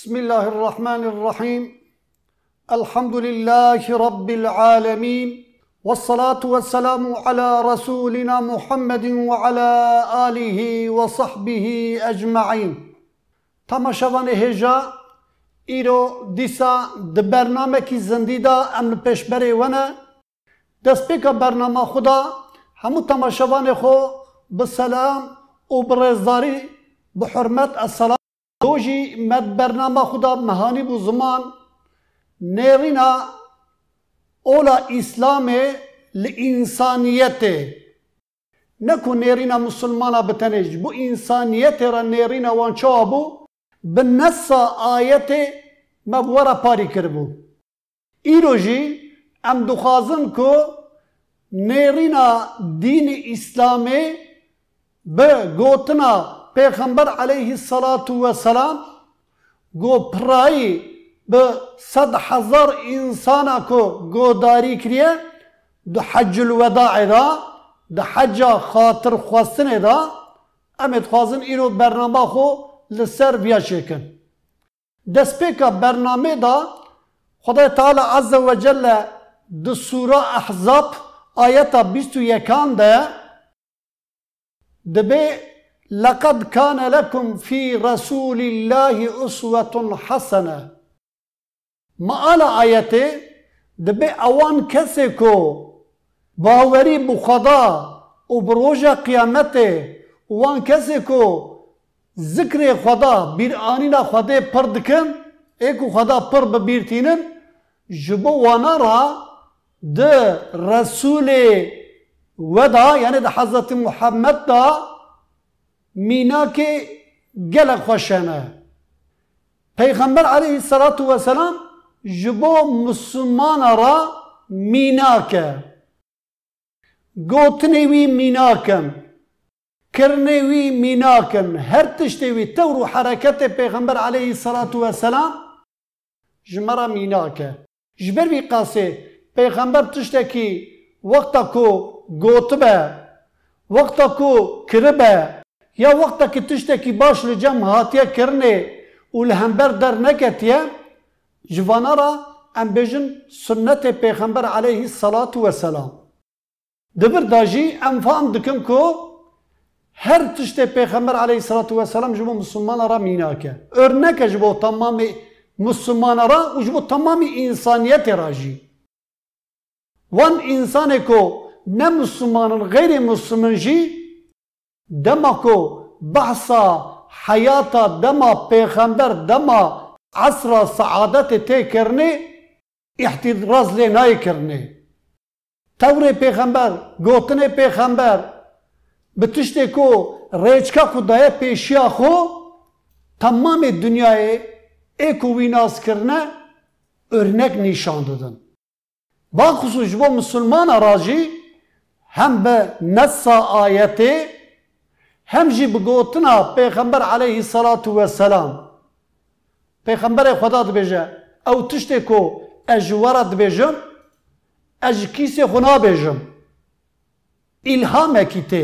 Bismillahirrahmanirrahim. Elhamdülillahi Rabbil alemin. Vessalatu vesselamu ala Resulina Muhammedin ve ala alihi ve sahbihi ecma'in. Tamaşavan-ı heja, îro dîsa di bernamekî zindî da em li pêşberê we ne, destpêka bernama xwe da hemû temaşevanê xwe bi selam û bi rêzdarî bi hurmet esselam. Dojî me bernama xwe da mehanî bû ziman nêrîna ola İslamê li însaniyetê. Ne ku nêrîna musulmana bi tenê ji bo însaniyetê re nêrîna wan çawa bû, bi nessa ayetê me bi we re parî kiribû. Îro jî em dixwazin ku nêrîna dînê İslamê bi gotina Peygamber aleyhissalatu vesselam go pirayî bi 100,000 insana ku godarî kiriye di Heccül Vedaê da, di hecca xatirxwestinê da em ê dixwazin îro bernama xwe li ser viya çêkin. Destpêka bernamê da Xwedaya Teala Azze ve Celle di Sûra Ahzab ayeta 21 de dibe لَقَدْ كَانَ لَكُمْ ف۪ي رَسُولِ اللّٰهِ اُسْوَةٌ حَسَنَةٌ. Maala ayeti dibe ewan kesê ku bawerî bi Xweda û bi roja qiyamete wan kesê ku zikrê Xweda bîranîna Xwedê pir dikin, ê ku Xweda pir bibîrtînin, ji bo wana ra di Resulê we da yani di Hazreti Muhammed da mînakê gelek xweş hene. Peygamber aleyhissalatu vesselam ji bo Müslümana ra mînak e. Gotinê wî mînak in, kirinê wî mînak in, her tiştê wî tewr û hereketê Peygamber aleyhissalatu vesselam ji me re mînak e. Ji ber vî qasê Peygamber tiştekî wexta ku gotibe, wexta ku kiribe, ya wextekî tiştekî baş li cem hatiye kirinê û li hember derneketiye, ji vana ra em bêjin sünnetê Peygamber aleyhissalatu vesselam. Di bir da jî em fehm dikin ku her tiştê Peygamber aleyhissalatu vesselam ji bo Müslümana ra mînak e. Örnek e ji bo tamamê Müslümana ra û ji bo tamamê însaniyetê ra jî. Wan însanê ku ne Müslümanın gayrî Müslümin jî dema ku behsa hayata dema Peygamber dema asra saadetê tê kirinê ihtiraz lê nayê kirinê. Tewrê Peygamber, gotinê Peygamber bi tiştê ku rêçka ku daye pêşiya xwe tamamê dunyayê ê ku wî nas kirine örnek nîşan didin. Baxusûs ji bo Müslümana ra jî hem bi nessa ayetê hem jî bi gotina Peygamber aleyhissalatu vesselam. Peygamberê Xweda dibêje ew tiştê ku ez ji we re dibêjim, ez ji kîsê xwe nabêjim. İlhamekî tê.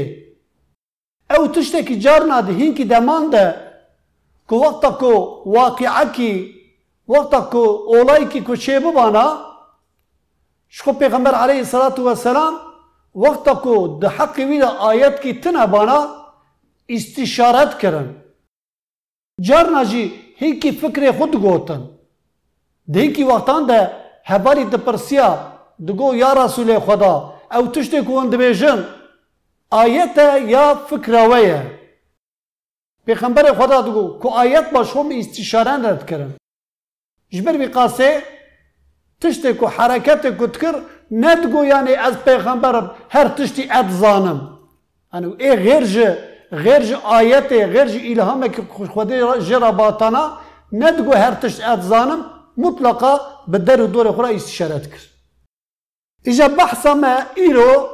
Ew tiştekî carna di hînkî deman de ku wexta ku waqîekî, wexta ku olayekî ku çê bibana, ji xwe Peygamber aleyhissalatu vesselam wexta ku di heqê wî de ayetkî tune bana istişaret kirin. Carna jî hînkî fikrê xwe digotin. Di hînkî wextan de hevalî dipirsiya digo ya Resulê Xweda ew tiştê ku hûn dibêjin ayet e ya fikra we ye. Peygamberê Xweda digo ku ayet baş xwe min istişaren re dikirin. Ji ber vî qasê tiştê ku hereketê ku dikir ne digo yani ez Peygamberim her tiştî ez zanim. Yani ê غêr ji ayetê, غêr ji îlhamekî Xwedê jê re batana ne digo her tişt ez zanim, mutlaka bi der û dorê xwe re istişare dikir. İja behsa me îro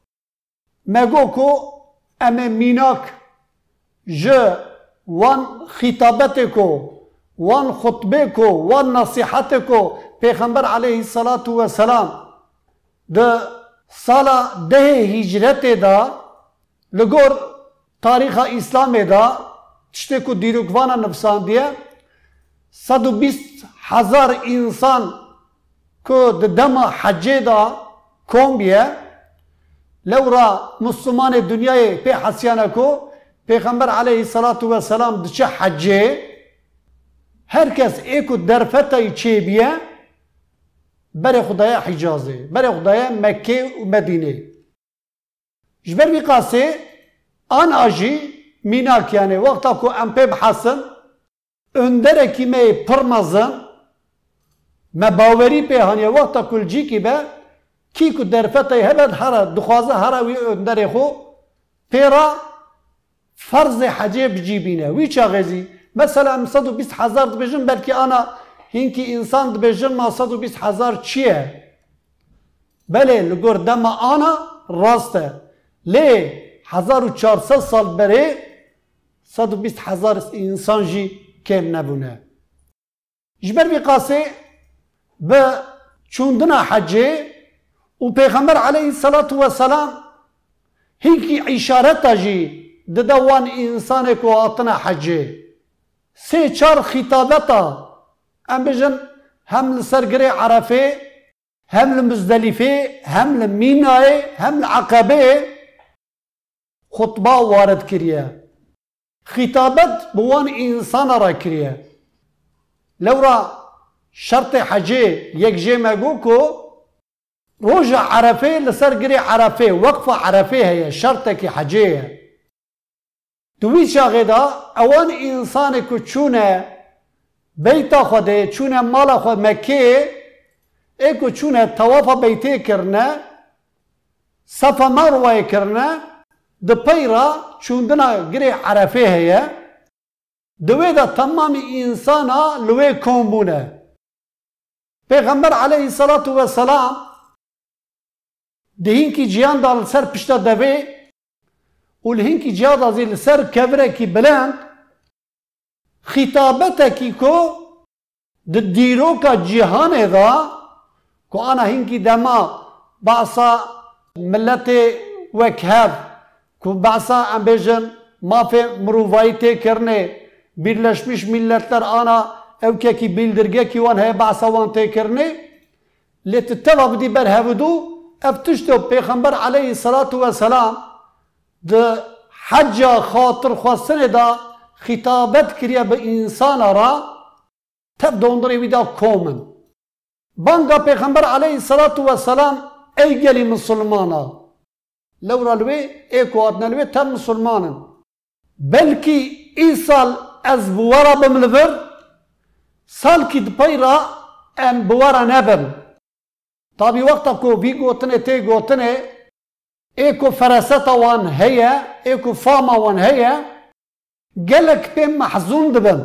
me got ku em ê mînak ji wan xîtabetê ku, wan xutbê ku, wan nasîhetê ku Peygamber aleyhissalatu vesselam di sala 10 hicretê da li gor tarîxa İslamê da tiştê ku dîrokvana nivîsandiye 120,000 insan کو دما حجه دا کم بیه لورا مسلمان دنیای پی حسیانه کو پیغمبر علیه السلام دچه حجه هر کس ایکو درفتای چه بیه بر خدای حجازه بر خدای مکه و مدینه جبر بی قاسه آن آجی میناک یعنی وقتا کو ام پی بحسن اندره کیمه پرمزن مباوری په هنیا وقت کل جی کی به کی کو درفته هبد هر دخوازه هر وی اندر خو پیرا فرض حجه بجیبینه وی چا غزی مثلا 120,000 دبجن بلکه انا هینکی انسان دبجن ما 120,000 چیه بله لگور دم انا راسته لی 1400 سال بره 120,000 انسان جی کم نبونه جبر بی قاسه به چوندنا حجه و پیغمبر علیه السلام هیکی اشارت جی ددوان انسان کو آتنا حجه سه چار خطابتا ام بجن هم لسرگره عرفه هم لمزدلفه هم لمینای هم لعقبه خطبه وارد کریه خطابت بوان انسان را کریه لورا شرط حجه یک جه مگو کو روز عرفه لسر گری عرفه وقف عرفه هي شرط کی حجه دوی شاغه دا اوان انسان کو چونه بیتا خوده چونه مال خود مکه ایکو چونه طواف بیته کرنه صفا مروه کرنه د پیرا چوندنا گری عرفه هي دوی دا تمام انسانا لوی کومبونه پیغمبر علیه السلام دهین کی جیان دال سر پشتا دوی و لهین کی جیان دازی لسر کبره کی بلند خطابته کی کو د دیرو کا جهان دا کو انا هین کی دما بعصا ملت وکهب کو بعصا امبیجن ما فی مرووایتی کرنه birleşmiş milletler ana evkeki bildirge ki van heye ba'sa van tekirni letiteva bidi berhevudu eftişte peygamber aleyhissalatu vesselam de hacca hatır khwastine da hitabet kiriye be insanlara teb dondure vida komen banga peygamber aleyhissalatu vesselam ey geli musulmana levralve eko adnelve teb musulmanın belki İsal ez buvara bimliver sal ki dpayra em buvara nebim tabi vakta ko vi gotine te gotine eko feraseta wan heye eko fama wan heye gelek pem mahzun dibim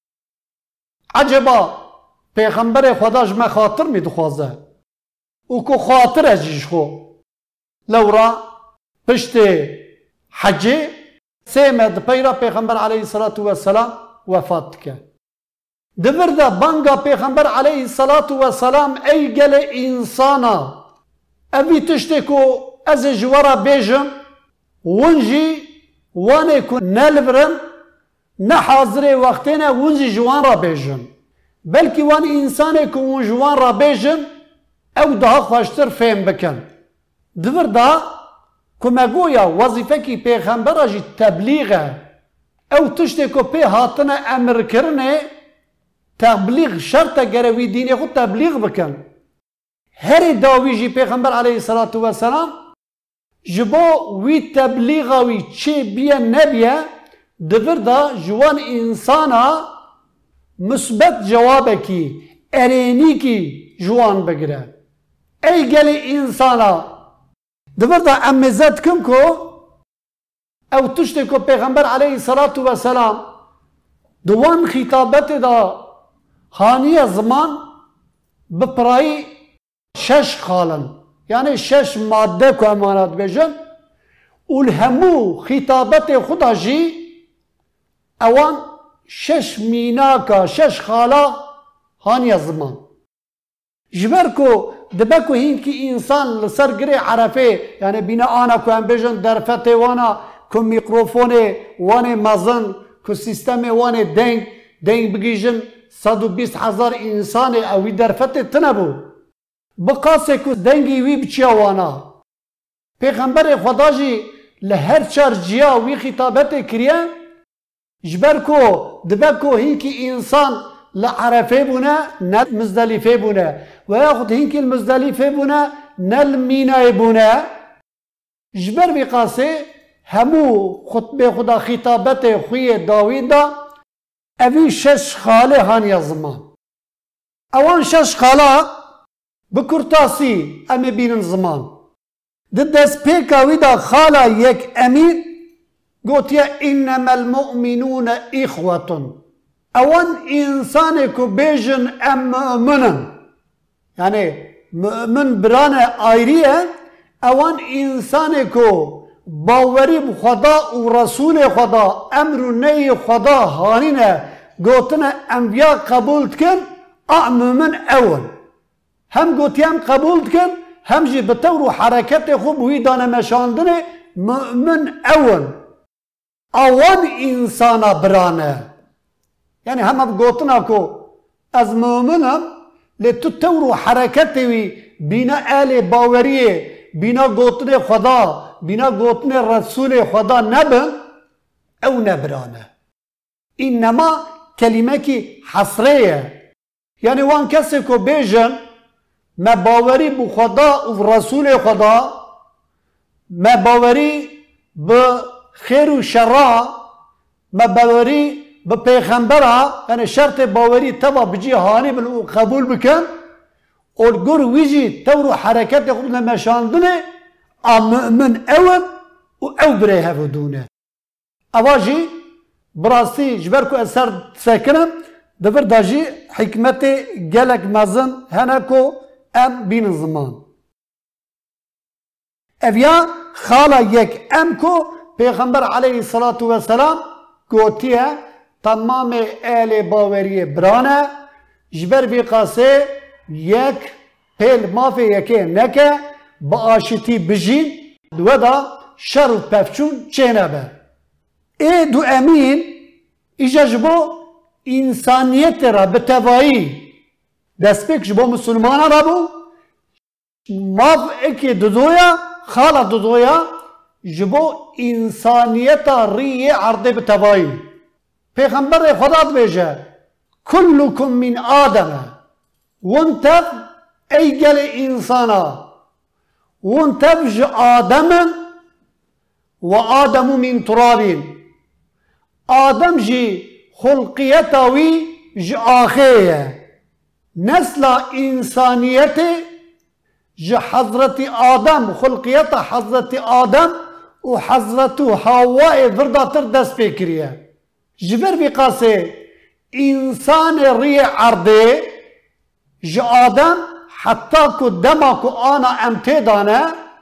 acaba peygamber Xuda jme khatir mi dixwaze û ku khatir ez jî xwe lewra piştê hecê سيمد بيرا پیغمبر عليه الصلاة والسلام وفات که دبر دا بانگا پیغمبر عليه الصلاة والسلام ای گل انسانا اوی تشتی کو از جوارا بیجم ونجی وانه کو نلبرن نحاضر وقتنا ونجی جوان را بیجم بلکی وان انسانه کو ون جوان را بیجم او daha خوشتر فهم بکن دبر دا کما گویا وظیفه کی پیغمبر اجی تبلیغه او تشتی کو پی هاتنه امر کرنه تبلیغ شرط گروی دینی خود تبلیغ بکن هر داوی جی پیغمبر علیه السلام جبو وی تبلیغه وی چی بیه نبیه دور دا جوان انسانا مثبت جوابه کی ارینی کی جوان بگیره ای گلی انسانا دور دا امزد کم کو او تشتی کو پیغمبر علیه السلام دوان خطابت دا خانی زمان بپرایی 6 خالن یعنی 6 ماده کو امانات بجن والهمو خطابت خدا جی اوان 6 میناکا 6 خالا خانی زمان جبر کو دبکو هینکی انسان لسر گره عرفه یعنی بینا آنا کو هم بجن درفته وانا کو میکروفونه وانه مزن کو سیستم وانه دنگ دنگ بگیجن 120,000 انسان اوی درفت تنبو بقاسه که دنگی وی بچیا وانا پیغمبر خدا جی لهر چار جیا وی خطابت کریه جبر کو دبه کو هینکی انسان لعرفه بونه نه مزدلفه بونه و یاخد هینکی المزدلفه بونه نه المینای بونه جبر بقاسه همو خطبه خدا خطابت خوی داویدا اوی شش خاله هانیا زمان اوان شش خاله بکرتاسی امی بینن زمان دست پیکا ویدا خاله یک امیر گوتیا انما المؤمنون اخوة اوان انسان کو بیجن ام مؤمنن یعنی مؤمن بران آیریه اوان انسان کو باوری خدا و رسول خدا امر و نهی خدا هانینه گوتنه انبیا قبول کن مؤمن اول هم گوتی هم قبول کن هم جی بطور و حرکت خوب وی دانه مشاندنه مؤمن اول اوان انسان برانه یعنی همه گوتنا کو از مؤمنم لتو تور و حرکت وی بینا آل باوریه بینا گوتن خدا بینا گوتن رسول خدا نبن او نبرانه اینما کلمه کی حصریه یعنی وان کسی که بیجن ما باوری بو خدا و رسول خدا ما باوری به خیر و شرع ما باوری به پیغمبره یعنی شرط باوری تبا بجی هانی بل قبول بکن اولگور ویجی تورو حرکت خود نمشاندنه مؤمن اول و او بره هفدونه اواجی براستی جبر کو اثر سکنم دبر داجی حکمت گلک مزن هنکو ام بین زمان اویا خالا یک ام کو پیغمبر علیه الصلاة والسلام گوتیه تمام اهل باوری برانه جبر بی قاسه یک پیل مافی یکی نکه با آشتی بجین دو دا شر و پفچون چینه به ای دو امین ایجا جبو انسانیت را به توایی دست پیک جبو مسلمان را بو ماف اکی دودویا خالا دودویا جبو انسانیت ری عرض به توایی پیغمبر خدا بیجه کلکم من آدمه وانتب ای گل انسانا وانتب ج آدم و آدم من ترابین آدم جی خلقیتاوی ج آخیه نسل انسانیت ج حضرت آدم خلقیت حضرت آدم و حضرت حواء ورداتر دست بکریه جبر بقاسه انسان ری عرضه ج آدم حتی که دما که آنا امتدانه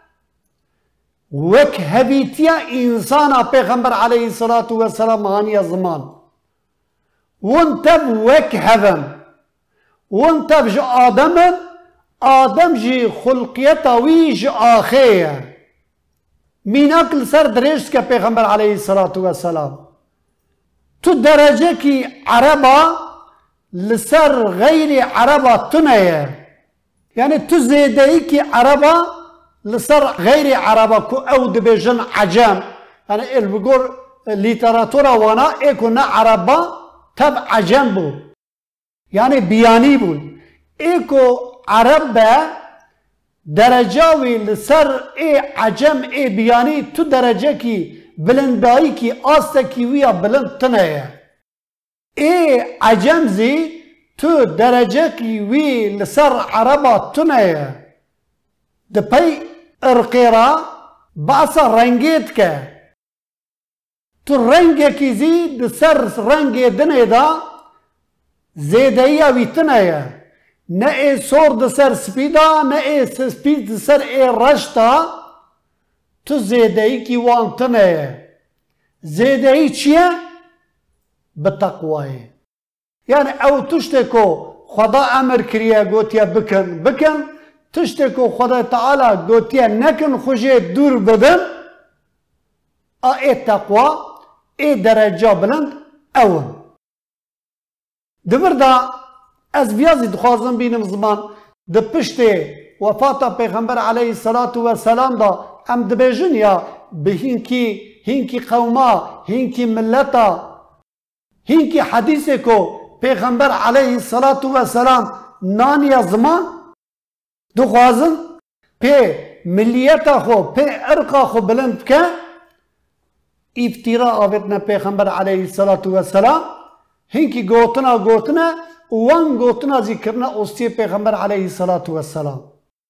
وک هبیتیا انسان پیغمبر علیه الصلاة والسلام هانی زمان وانتب وک هدم وانتب ج آدم آدم جی خلقیتا وی ج آخیه میناکل سر درشت که پیغمبر علیه الصلاة والسلام تو درجه کی عربا لسر غیر عربا تنیه یعنی تو زیده ای کی عربا لسر غیر عربا کو او دبیجن عجم یعنی البگور لیتراتورا وانا ایکو نا عربا تب عجم بود یعنی بیانی بود ایکو عرب درجاوی لسر ای عجم ای بیانی تو درجه کی بلندایی کی آسته کی ویا بلند تنیه ای عجم زی تو درجه کی وی لسر عربا تنیه دپی ارقیرا باسا رنگیت که تو رنگی کی زی لسر رنگی دنه دا زیدهی وی تنیه نه ای سور دسر سپیدا نه ای سپید دسر ای رشتا تو زیدهی کی وان تنیه زیدهی چیه؟ بتقواه یعنی او تشته کو خدا امر کریه گوتیا بکن بکن تشته کو خدا تعالی گوتیا نکن خوشه دور بدن ای تقوا ای درجه بلند اون دبردا از بیازی دخوازم بینم زمان ده پشت وفات پیغمبر علیه الصلاة والسلام دا ام دبیجن یا به هینکی قوما هینکی ملتا هینکی حدیثه کو پیغمبر علیه الصلاة والسلام نانی زمان دخوازم پی ملیتا خو پی ارقا خو بلند که افتراء آبتنا پیغمبر علیه الصلاة والسلام هنکی گوتنا وان گوتنا ذکرنا استی پیغمبر علیه الصلاة والسلام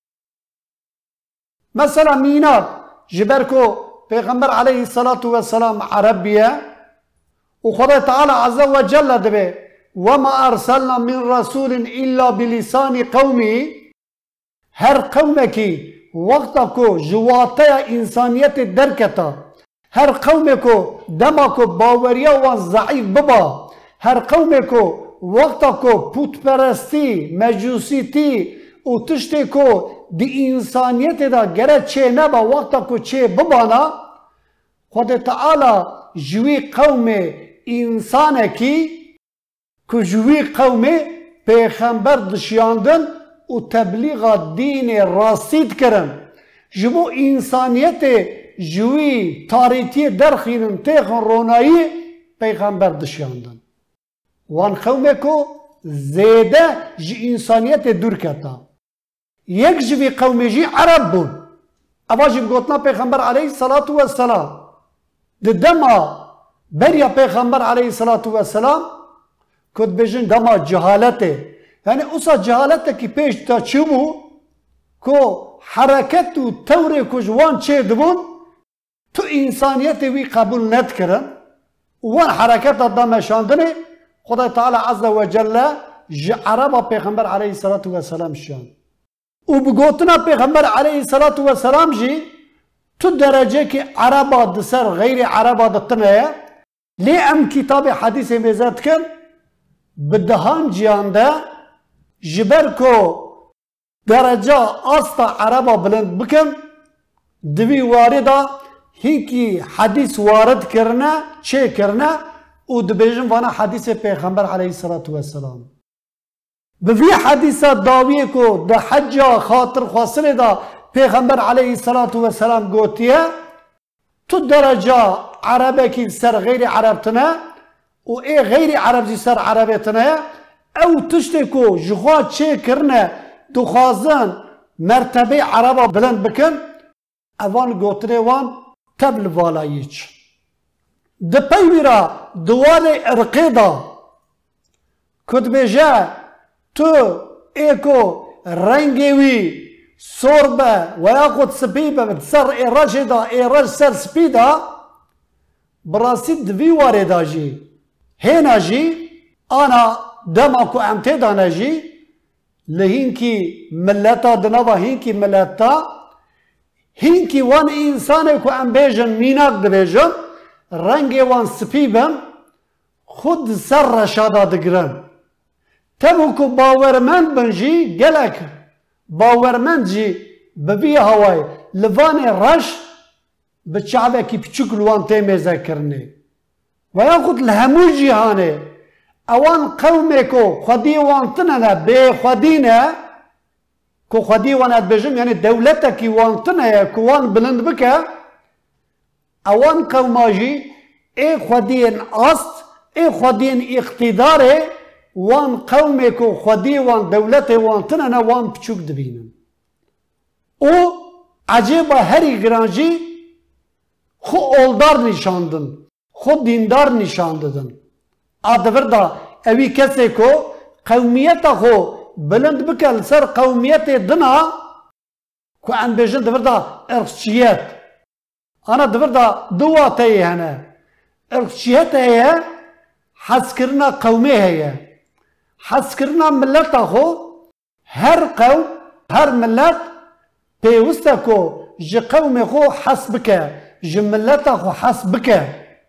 مثلا میناد جبر کو پیغمبر علیه الصلاة والسلام عربیه و خدا تعالی عز و جل دبه وما ارسلنا من رسول الا بلسان قومه هر قومکی وقتا کو جواتا انسانیت درکتا هر قوم کو دما کو باوریا و ضعیف ببا هر قوم کو وقتا کو پوت پرستی مجوسی تی و تشتی کو دی انسانیت دا گره چه نبا وقتا کو چه ببانا خود تعالی جوی قوم انسان کی که جوی قوم پیغمبر دشیاندن و تبلیغ دین راستید کرن جبو انسانیت جوی تاریتی درخینن تیخن رونایی پیغمبر دشیاندن وان قومه کو زیده جی انسانیت دور کتا یک جوی قومه جی عرب بون اوا جی بگوتنا پیغمبر علیه الصلاة والسلام ده دما بریا پیغمبر علیه الصلاة والسلام کد بجن دما جهالته یعنی اوسا جهالته کی پیش تا چی بو کو حرکت و طور کجوان چه دبون تو انسانیت وی قبول ند کرن وان حرکت دام شاندنه خدا تعالی عز و جل عربا پیغمبر علیه الصلاة والسلام شان و بگوتنا پیغمبر علیه الصلاة والسلام جی تو درجه که عربا دسر غیر عربا دتنه لی ام کتاب حدیث میزد کن بدهان جیانده جبر کو درجه آستا عربا بلند بکن دوی وارده هیکی حدیث وارد کرنه چه کرنه و دبیجن وانا حدیث پیغمبر علیه الصلاة والسلام بوی حدیث داویه کو ده حج خاطر خواصله دا پیغمبر علیه الصلاة والسلام گوتیه تو درجه عربه کی سر غیر عربتنه و ای غیر عرب زی سر عربتنه او تشتی کو جخوا چه کرنه دخوازن مرتبه عربا بلند بکن اوان گوتره وان تبل والاییچ ده پیویرا دوال ارقی دا کد بیجه تو ایکو رنگی وی سوربه و یا خود سپیبه سر ایراج دا ایراج سر سپی دا براسی دوی واره دا جی هینا جی آنا دما کو امته دانا جی لهینکی ملتا دنوا هینکی ملتا هینکی وان انسانه کو ام بیجن میناک دبیجن رنگ وان سپیبن خود سر رشادا دگرن تبو کو باورمند بنجی گلک باورمند جی ببی هوای لوان رش بچعبه کی پچوک لوان تیمیزه کرنه و یا خود لهمو جیهانه اوان قومه کو خودی وان تنه به خودینه کو خودی وان ادبجم یعنی دولته کی وان تنه کو وان بلند بکه اوان قوماجی ای خودین است ای خودین اقتداره وان قومه کو خودی وان دولته وان تنه وان پچوک دبینن او عجیبه هری گرانجی خو اولدار نشاندن خود دیندار نشاندن آدور دا اوی کسی کو قومیت خو بلند بکل سر قومیت دنا کو ان بیجن دور دا ارخچیت انا دور دا دوا تایی هنه ارخچیت هیه حس کرنا قومی هیه حس کرنا ملت خو هر قوم هر ملت پیوسته کو جی قوم خو حس بکه جی ملت خو حس بکه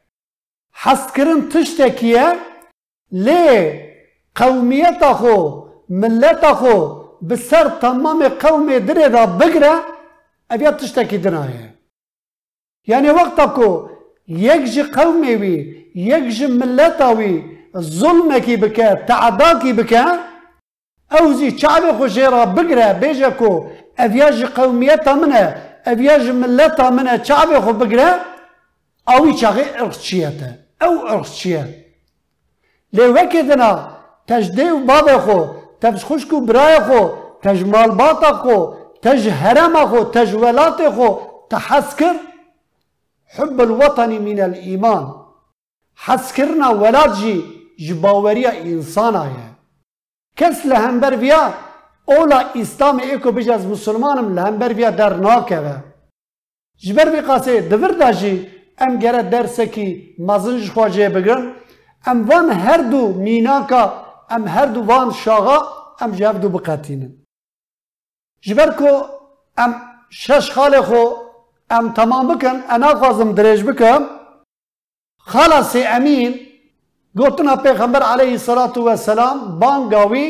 حس کرن تشتکیه لی قومیت خو ملت خو بسر تمام قوم دره دا بگره اویا تشتکی دنایه یعنی وقتا کو یک جی قومی وی یک جی ملت وی ظلمكي بك تعداكي بك اوزي شعبي خجيرا بقرا بيجكو افياج قوميتا منها افياج ملتا منها شعبي خو بقرا اوي شاغي ارخشيتا او ارخشيه لي وكدنا تجديو بابا خو تج خشكو براي خو تج مالباتا خو تج هرم خو تج ولات خو تحسكر حب الوطن من الايمان حسكرنا ولاد جباوريا انسانا كس لهمبر بيا اولا اسلام ايكو بجاز مسلمانم لهمبر بيا در ناكوه جبر بي قاسي دور داجي ام گره درسكي مازنج خواجه بگرن ام وان هر دو ميناكا ام هر دو وان شاغا ام جاب دو بقاتينن جبركو ام شش خاله خو ام تمام بكن انا خازم دريج بكم خلاص امين قلتنا پیغمبر عليه الصلاة والسلام بانگاوي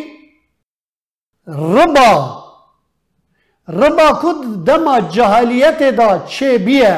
ربا كد دما جاهليته دا چه بيه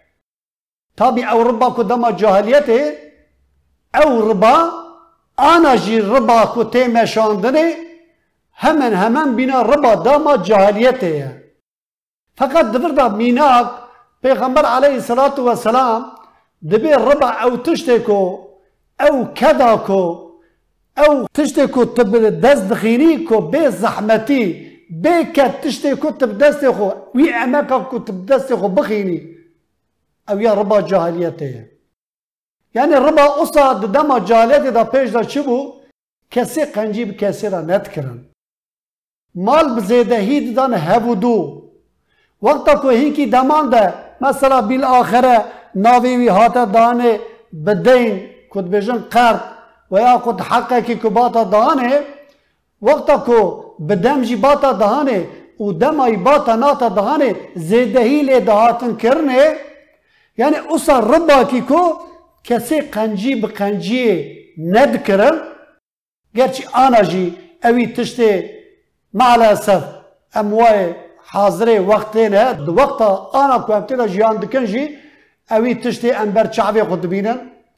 تابي او ربا كد دما جاهليته او ربا انا جي ربا كد تيمشاندنه hemen bina ربا دما جاهليته فقط دبر دا ميناك پیغمبر عليه الصلاة والسلام دبي ربا او تشتكو او كذاكو او تشتكو تب دست دخينيكو بي زحمتي بي كت تشتكو تب دستخو وي اماكو تب دستخو بخيني او يا ربا جاهليته يعني ربا اصلا دما جاهليته دا پیش دا چبو كسي قنجيب كسي را نتكرن مال بزيدهي دان هبودو وقتا کو هي کی دمان ده مثلا بالاخره ناوي هاتا دانه بدين كنت بيجن قرض ويا كنت حقك كباتا دهانه وقتا كو بدمجي باتا دهانه ودمي باتا ناتا دهانه زيدهي لي دهاتن كرنه يعني اصلا ربا كيكو كسي قنجي بقنجي ندكرن gerçi انا جي اوي تشتي مع الاسف امواي حاضري وقتين هاد وقتا انا كنت جيان دكنجي اوي تشتي انبر شعبي خد بينن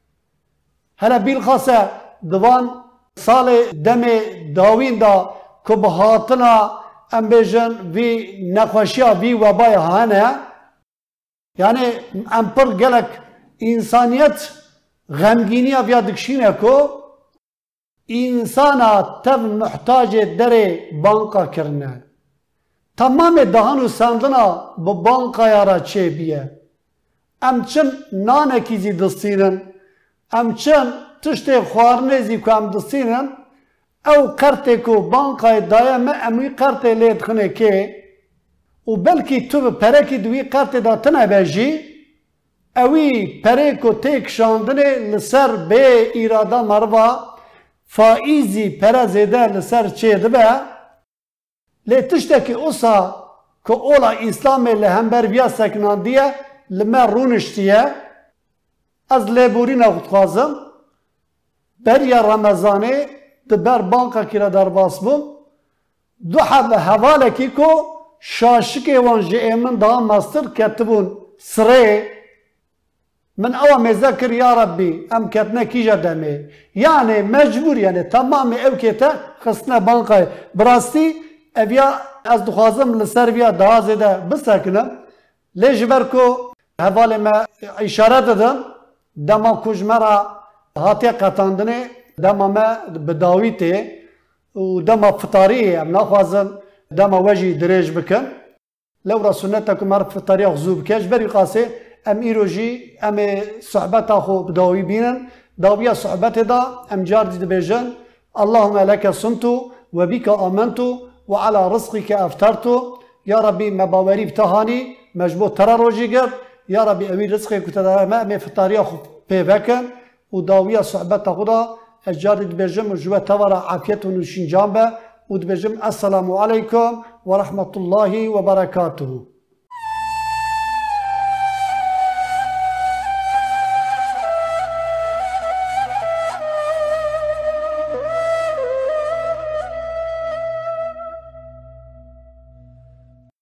هلا بالخاصة دوان سال دم داوين دا كبهاتنا ام بيجن في نخوشيا في وباي هانا يعني ام پر گلك انسانيت غمگينيا فيا دكشينه كو انسانا تب محتاج دري بانكا كرنا تمام دهانو سندنا ببانكا يارا چه بيه ام چن نانه كيزي دستينن ام چن تشتي خوارنزي كو ام دستينن او قرتي كو بانكاي دايما اموي قرتي ليد خنه كي و بلكي تو پركي دوي قرتي دا تنه بجي اوي پريكو تيك شاندنه لسر بي ارادا مروا فائزي پرزيده لسر چه دبه لي تشتكي اوسا كو اولا اسلامي لهمبر بيا سكنان ديه لما رونشتيه از لیبورین اخت خوازم بریا رمضانه دبر بانکا کلا در باس بوم دو حب حواله کی کو شاشکی وان جئمن دا ماستر کتبون سره من اوا مذكر يا ربي ام كتنا كيجا دمي يعني مجبور يعني تمام او كتا خصنا بانكا براستي ابيا از دخوازم لسربيا دا زيده بسكنم لجبركو حواله ما اشاره دادم دما کجمرا هاتي قطاندنه دما ما بداويته ودما فطاريه ام ناخوازم دما وجي دريج بكن لو رسولتكم عرف فطاريه غزوب كاش بري قاسي ام ايروجي ام صحبت اخو بداوي بينن داويه صحبت دا ام جاردي دبيجن اللهم لك صمت وبك امنت وعلى رزقك افطرت يا ربي مباوري بتهاني مجبور ترى روجي قر يا ربي امير رزقك كنت ما في الطريق بيفكن وداويه صحبت خدا الجارد بجم جوا تورا عافيه ونشين جامبه ودبجم السلام عليكم ورحمه الله وبركاته.